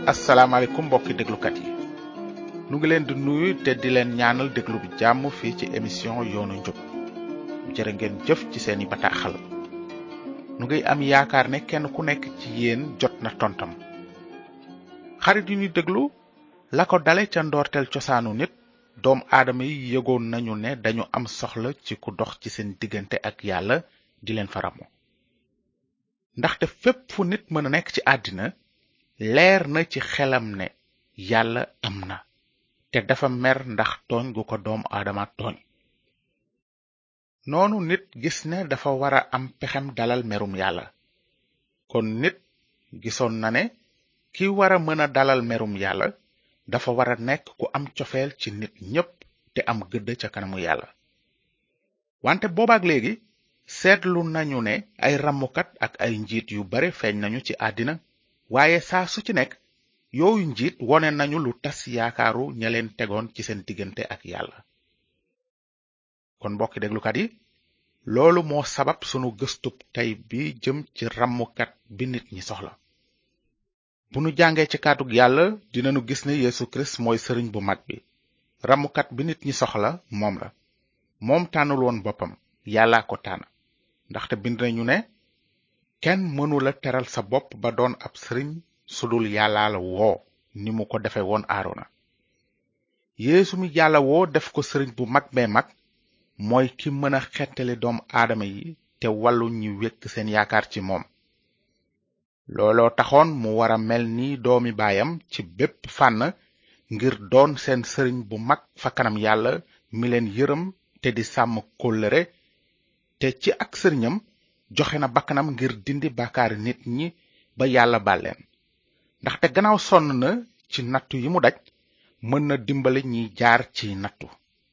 asalaamaaleykum mbokki déglukat yi nu ngi leen di nuyu te di leen ñaanal déglu bi jàmm fii ci émission yoonu njub jërë ngeen jëf ci seeni bataaxal nu ngi am yaakaar ne kenn ku nekk ci yéen jot na tontam. xarit yu ñu déglu la ko dale ca ndoorteel cosaanu nit doom aadama yi yëgoon nañu ne dañu am soxla ci ku dox ci seen diggante ak yàlla di leen fa ràmmu. ndaxte fépp fu nit mën a nekk ci àddina leer na ci xelam ne yàlla am na te dafa mer ndax tooñ gu ko doom aadama tooñ. noonu nit gis ne dafa wara am pexem dalal merum yàlla. kon nit gisoon na ne ki wara mën a dalal merum yàlla dafa wara nekk ku am cofeel ci nit ñépp te am gëdd ca kanamu yàlla. wante boobaak léegi seetlu nañu ne ay rammukat ak ay njiit yu bare feeñ nañu ci àddina, waaye saa su ci nekk yooyu njiit wone nañu lu tas yaakaaru ña leen tegoon ci seen diggante ak yàlla. kon mbokki déglukat yi, loolu moo sabab sunu gëstub tey bi jëm ci rammukat bi nit ñi soxla. bu nu jàngee ci kàddug yàlla dinanu gis ne Yesu Kirist mooy sëriñ bu mag bi. rammukat bi nit ñi soxla moom la. moom tànnul woon boppam, yàllaa ko tànn. ndaxte bind nañu ne kenn mënula teral sa bopp ba doon ab sëriñ sudul yàlla la woo ni mu ko defe woon Aarona. Yeesu mi yàlla woo def ko sëriñ bu mag bee mag mooy ki mën a xettali doom aadama yi te wàllu ñi wekk seen yaakaar ci moom. looloo taxoon mu wara mel ni doomi baayam ci bépp fànn ngir doon seen sëriñ bu mag fa kanam yàlla mi leen yërëm te di sàmm kóllëre, te ci ak sëriñam joxe na bakkanam ngir dindi bàkkaari nit ñi ba yàlla baal leen. ndaxte gannaaw sonn na ci nattu yi mu daj, mën na dimbali ñiy jaar ci nattu.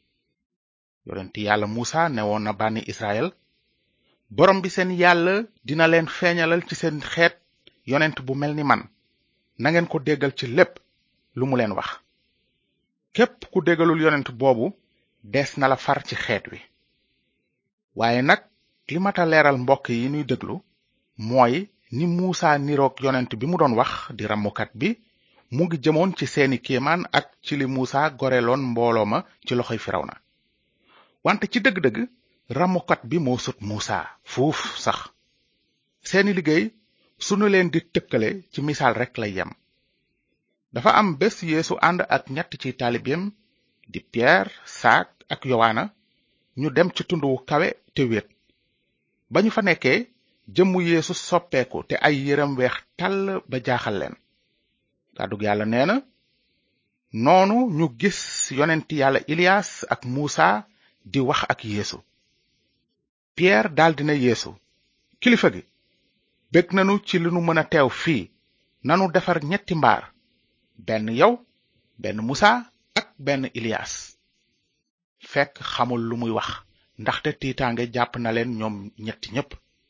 yonent yàlla Musa newoon na bànni Israël, borom bi seen yàlla dina leen feeñalal ci seen xeet yonent bu mel ni man, nangeen ko déggal ci lépp lu mu leen wax. képp ku déggalul yonent boobu des na la far ci xeet wi. waaye nag li mata leeral mbokk yi nuy déglu mooy ni Musa niroog yonent bi mu doon wax di rammukat bi mu ngi jëmoon ci seeni kéemaan ak ci li Musa goreloon mbooloo ma ci loxoy Firawna. wante ci dëgg-dëgg rammukat bi moo sut Musa fuuf sax. seeni liggéey sunu leen di tëkkale ci misaal rekk lay yem. dafa am bés Yeesu ànd ak ñett ci taalibeem di Pierre, Saak ak Yowaana ñu dem ci tund wu kawe te wéet. ba ñu fa nekkee jëmmu Yeesu soppeeku te ay yéreem weex tàll ba jaaxal leen. kàddug yàlla nee na, noonu ñu gis yonenti yàlla Ilias ak Musa di wax ak Yeesu. Pierre daldi ne Yeesu, kilifa gi, bég nanu ci li nu mën a teew fii. nanu defar ñetti mbaar, benn yow, benn Musa ak benn Ilias. fekk xamul lu muy wax ndaxte tiitaange jàpp na leen ñoom ñetti ñépp.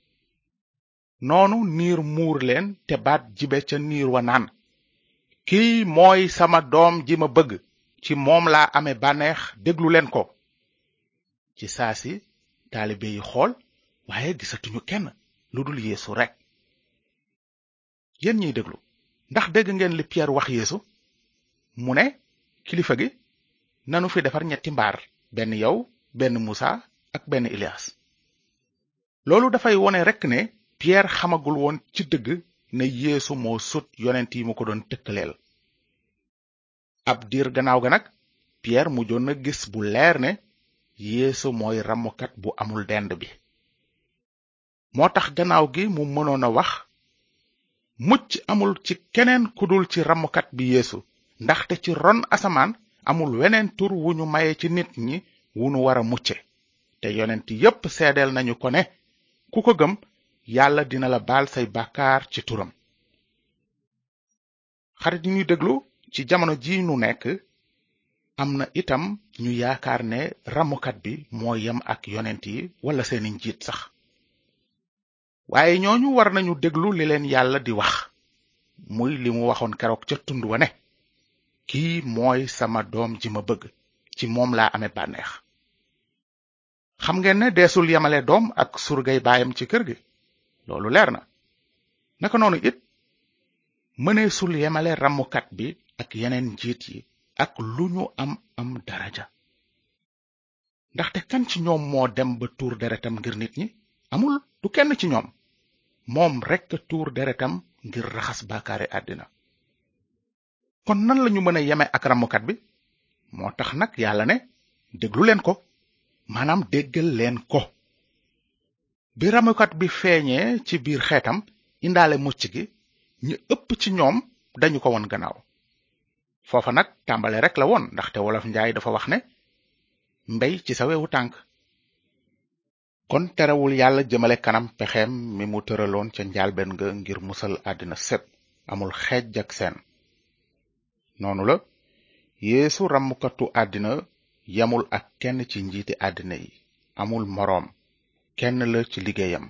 noonu niir muur leen te baat jibe ca niir wa naan, kii mooy sama doom ji ma bëgg, ci moom laa amee bànneex, déglu leen ko. ci saasi taalibe yi xool, waaye gisatuñu kenn lu dul Yeesu rekk. yéen ñiy déglu, ndax dégg ngeen li Pierre wax Yeesu? mu ne, kilifa gi, nanu fi defar ñetti mbaar, benn yow, benn Musa ak benn Ilias. loolu dafay wone rekk ne Pierre xamagul woon ci dëgg ne Yeesu moo sut yonent yi mu ko doon tëkkaleel. ab diir gannaaw ga nag Pierre mujjoon na gis bu leer ne Yeesu mooy rammukat bu amul dend bi. moo tax gannaaw gi mu mënoon a wax, mucc amul ci keneen ku dul ci rammukat bi Yeesu, ndaxte ci ron asamaan amul weneen tur wu ñu maye ci nit ñi wu nu wara mucce. te yonent yépp seedeel nañu ko ne ku ko gëm yàlla dina la baal say bàkkaar ci turam. xarit yi ñuy déglu, ci jamono ji nu nekk am na itam ñu yaakaar ne rammukat bi moo yem ak yonent yi wala seeni njiit sax. waaye ñooñu war nañu déglu li leen yàlla di wax, muy li mu waxoon keroog ca tund wa ne, kii mooy sama doom ji ma bëgg, ci moom laa amee bànneex. xam ngeen ne deesul yemale doom ak surgay baayam ci kër gi, loolu leer na. naka noonu it mëneesul yemale ramukat bi ak yeneen njiit yi ak lu ñu am daraja. ndaxte kan ci ñoom moo dem ba tuur deretam ngir nit ñi? amul, du kenn ci ñoom. moom rekk tuur deretam ngir raxas bàkkaari àddina. kon nan lañu mën a yeme ak ramukat bi? moo tax nag yàlla ne déglu leen ko, maanaam déggal leen ko. bi ramukat bi feeñee ci biir xeetam indaale mucc gi, ñi ëpp ci ñoom dañu ko won gannaaw. foofa nag tàmbale rek la woon, ndaxte wolof njaay dafa wax ne mbey ci sa wewu tànk. kon terewul yàlla jëmale kanam pexeem mi mu tëraloon ca njaalbeen ga ngir musal àddina sépp, amul xeej ak seen. noonu la yeesu ramukatu àddina yamul ak kenn ci njiiti àddina yi, amul moroom, kenn la ci liggéeyam.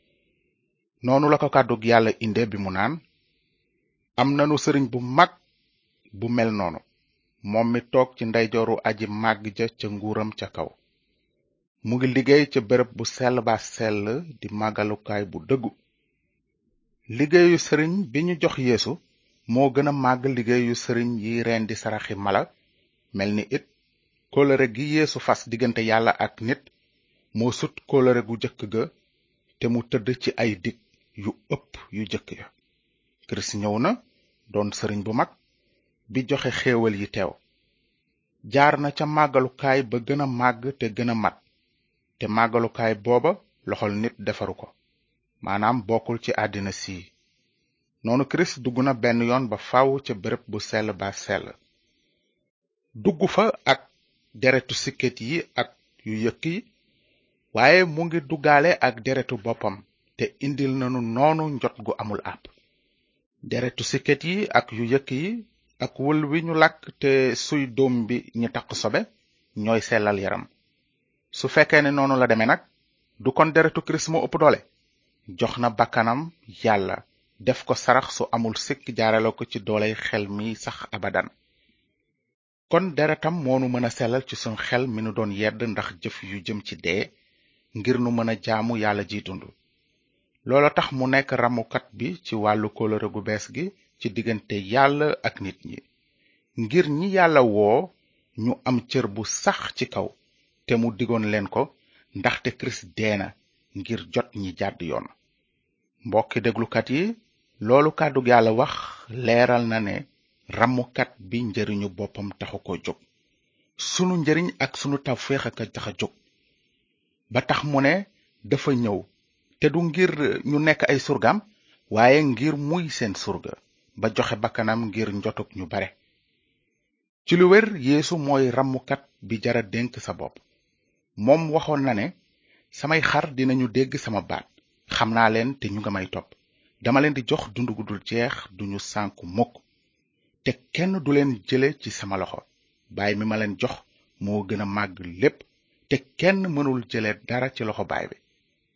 noonu la ko kàddug yàlla inde bi mu naan, am nanu sëriñ bu mag bu mel noonu, moom mi toog ci ndeyjooru aji màgg ja ca nguuram ca kaw. mu ngi liggéey ca béréb bu sell ba sell di màggalukaay bu dëggu. liggéeyu sëriñ bi ñu jox yeesu moo gën a màgg liggéeyu sëriñ yi rendi saraxi mala, mel ni it kóllëre gi yeesu fas diggante yàlla ak nit moo sut kóllëre gu jëkk ga te mu tëdd ci ay dig yu ëpp yu jëkk ya. kirist ñëw na doon sëriñ bu mag bi joxe xéewal yi teew. jaar na ca màggalukaay ba gën a màgg te gën a mat, te màggalukaay booba loxol nit defaru ko, maanaam bokkul ci àddina sii. noonu kirist dugg na benn yoon ba faw ca béréb bu sell ba sell. dugg fa ak deretu sikket yi ak yu yëkk yi, waaye mu ngi duggaale ak deretu boppam te indil nanu noonu njot gu amul àpp. deretu sikket yi ak yu yëkk yi ak wël wi ñu làkk te suy doom bi ñi taq sobe ñooy sellal yaram. su fekkee ne noonu la demee nag, du kon deretu kirist moo ëpp doole? jox na bakkanam yàlla def ko sarax su amul sikk jaarale ko ci dooley xel mi sax abadan. kon deretam moonu mën a sellal ci sunu xel mi nu doon yedd ndax jëf yu jëm ci dee, ngir nu mën a jaamu yàlla ji dund. loolo tax mu nekk ramukat bi ci wàllu kóllëre gu bees gi ci diggante yàlla ak nit ñi, ngir ñi yàlla woo ñu am cër bu sax ci kaw, te mu digoon leen ko ndaxte kirist dee na ngir jot ñi jàdd yoon. mbokki déglukat yi, loolu kàddug yàlla wax leeral na ne ramukat bi njariñu boppam taxu ko jóg. sunu njariñ ak sunu tawféex a tax a jóg. ba tax mu ne dafa ñëw te du ngir ñu nekk ay surgaam, waaye ngir muy seen surga, ba joxe bakkanam ngir njotug ñu bare. ci lu wér, yeesu mooy ramukat bi jara dénk sa bopp. moom waxoon na ne samay xar dinañu dégg sama baat, xam naa leen te ñu nga may topp. dama leen di jox dund gu dul jeex, duñu sànku mukk, te kenn du leen jële ci sama loxo. baay mi ma leen jox moo gën a màgg lépp, te kenn mënul jële dara ci loxo baay bi.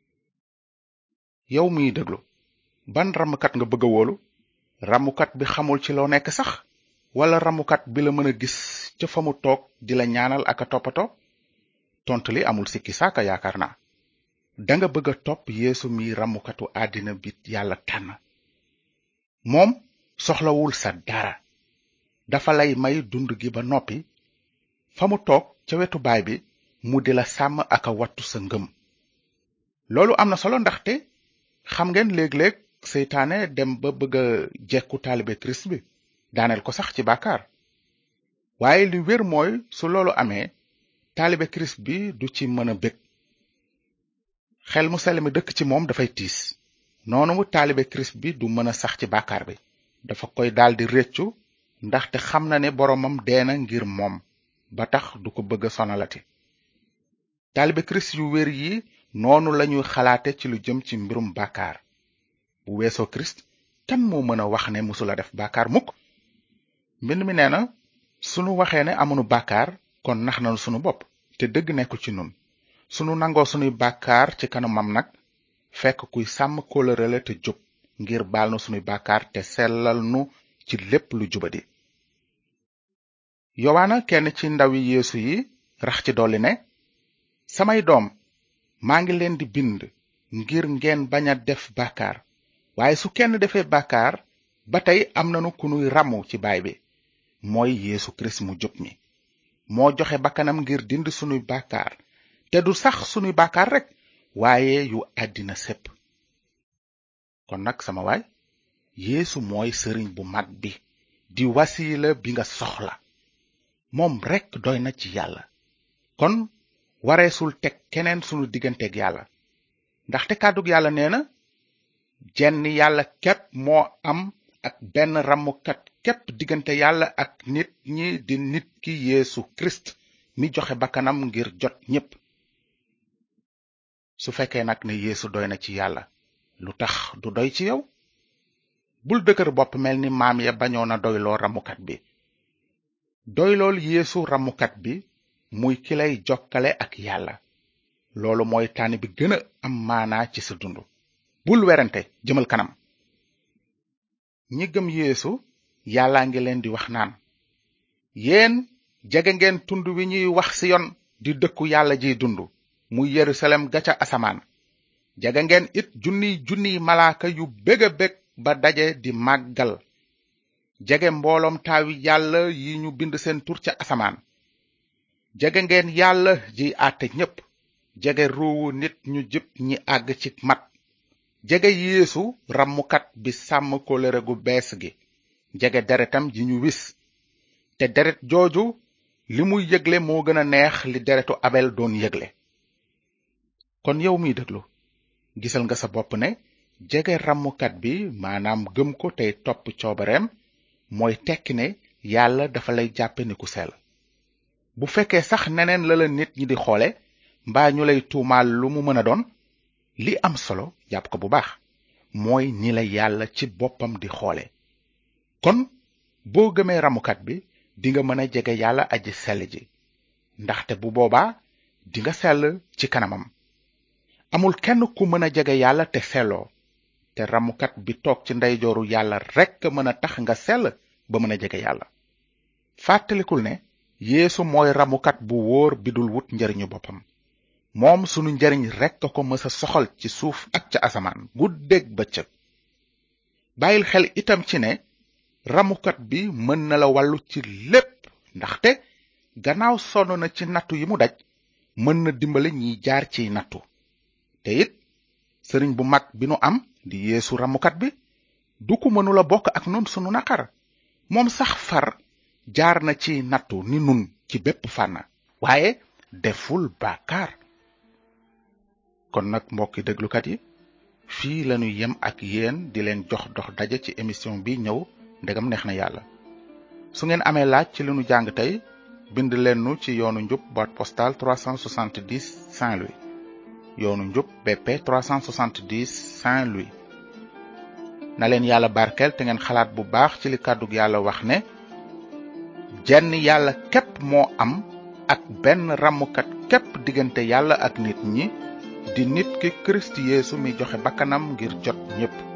yow miy déglu, ban ramukat nga bëgg a wóolu? ramukat bi xamul ci loo nekk sax, wala ramukat bi la mën a gis ca fa mu toog di la ñaanal ak a toppatoo? tontu li amul sikki saaka, yaakaar naa. danga bëgg a topp yeesu mi ramukatu àddina bi yàlla tànn. moom soxlawul sa dara, dafa lay may dund gi ba noppi. fa mu toog ca wetu baay bi mu di la sàmm ak a wattu sa ngëm. loolu am na solo, ndaxte xam ngeen léeg-léeg seytaane dem ba bëgg a jekku taalibe kirist bi, daaneel ko sax ci bàkkaar. waaye li wér mooy, su loolu amee, taalibe kirist bi du ci mën a bég. xel mu sell mi dëkk ci moom dafay tiis. noonu mu taalibe kirist bi du mën a sax ci bàkkaar bi, dafa koy daldi réccu, ndaxte xam na ne boroomam dee na ngir moom, ba tax du ko bëgg a sonalati. taalibe kirist yu wér yi noonu lañuy xalaate ci lu jëm ci mbirum bàkkaar. bu weesoo kirist, kan moo mën a wax ne musula def bàkkaar mukk? mbind mi nee na, sunu waxee ne amunu bàkkaar, kon nax nanu sunu bopp, te dëgg nekkul ci nun. sunu nangoo sunuy bàkkaar ci kanamam nag, fekk kuy sàmm kóllëre la te jub, ngir baal nu sunuy bàkkaar te sellal nu ci lépp lu jubadi. yowaana, kenn ci ndawi yeesu yi, rax ci dolli ne, samay doom, maa ngi leen di bind ngir ngeen bañ a def bàkkaar, waaye su kenn defee bàkkaar, ba tey am nanu ku nuy ràmmu ci baay bi mooy Yeesu Kirist mu jub mi moo joxe bakkanam ngir dind sunuy bàkkaar te du sax sunuy bàkkaar rekk waaye yu àddina sépp kon nag sama waay Yeesu mooy sëriñ bu mat bi di wasiila bi nga soxla moom rekk doy na ci yàlla kon wareesul teg keneen sunu digganteeg yàlla ndaxte kàddug yàlla nee na jenn yàlla képp moo am ak benn ràmmukat képp diggante yàlla ak nit ñi di nit ki Yeesu Kirist mi joxe bakkanam ngir jot ñépp su fekkee nag ne Yeesu doy na ci yàlla lu tax du doy ci yow bul dëgër bopp mel ni maam ya bañoon a doyloo ràmmukat bi doylool Yeesu ràmmukat bi muy ki lay jokkale ak yàlla loolu mooy tànn bi gën a am maanaa ci sa dund bul werante jëmal kanam ñi gëm Yeesu yàllaa ngi leen di wax naan yéen jege ngeen tund wi ñuy wax Siyon di dëkku yàlla jiy dund muy Yerusalem ga ca asamaan jege ngeen it junniy malaaka yu bég a bég ba daje di màggal jege mbooloom taawi yàlla yi ñu bind seen tur ca asamaan jege ngeen yàlla jiy àtte ñépp jege ruuwu nit ñu jub ñi àgg ci mat jege Yeesu ràmmukat bi sàmm kóllëre gu bees gi jege deretam ji ñu wis te deret jooju li muy yëgle moo gën a neex li deretu Abel doon yëgle kon yow miy déglu gisal nga sa bopp ne jege ràmmukat bi maanaam gëm ko tey topp coobareem mooy tekki ne yàlla dafa lay jàppe ni ku sell bu fekkee sax neneen la nit ñi di xoole mbaa ñu lay tuumaal lu mu mën a doon li am solo jàpp ko bu baax mooy ni la yàlla ci boppam di xoole kon boo gëmee ràmmukat bi dinga mën a jege yàlla aji sell ji ndaxte bu boobaa dinga sell ci kanamam amul kenn ku mën a jege yàlla te selloo te ràmmukat bi toog ci ndeyjooru yàlla rekk mën a tax nga sell ba mën a jege yàlla fàttalikul ne Yeesu mooy ràmmukat bu wóor bi dul wut njariñu boppam moom sunu njariñ rekk ko mësa soxal ci suuf ak ca asamaan guddeeg bëccëg bàyyil xel itam ci ne ràmmukat bi mën na la wàllu ci lépp ndaxte gannaaw sonn na ci nattu yi mu daj mën na dimbali ñiy jaar ciy nattu te it sëriñ bu mag bi nu am di Yeesu ràmmukat bi du ko mënula bokk ak nun sunu naqar moom sax far jaar na ci nattu ni nun ci bépp fànn waaye deful bàkkaar kon nag mbokki déglukat yi fii lañu yem ak yéen di leen jox dox daje ci émission bi ñëw ndegam neex na yàlla su ngeen amee laaj ci li nu jàng tey bind leen nu ci yoonu njub boîte postale 370 Saint-Louis yoonu njub BP 370 Saint-Louis na leen yàlla barkeel te ngeen xalaat bu baax ci li kàddug yàlla wax ne jenn yàlla képp moo am ak benn ràmmukat képp diggante yàlla ak nit ñi di nit ki Kirist Yeesu mi joxe bakkanam ngir jot ñépp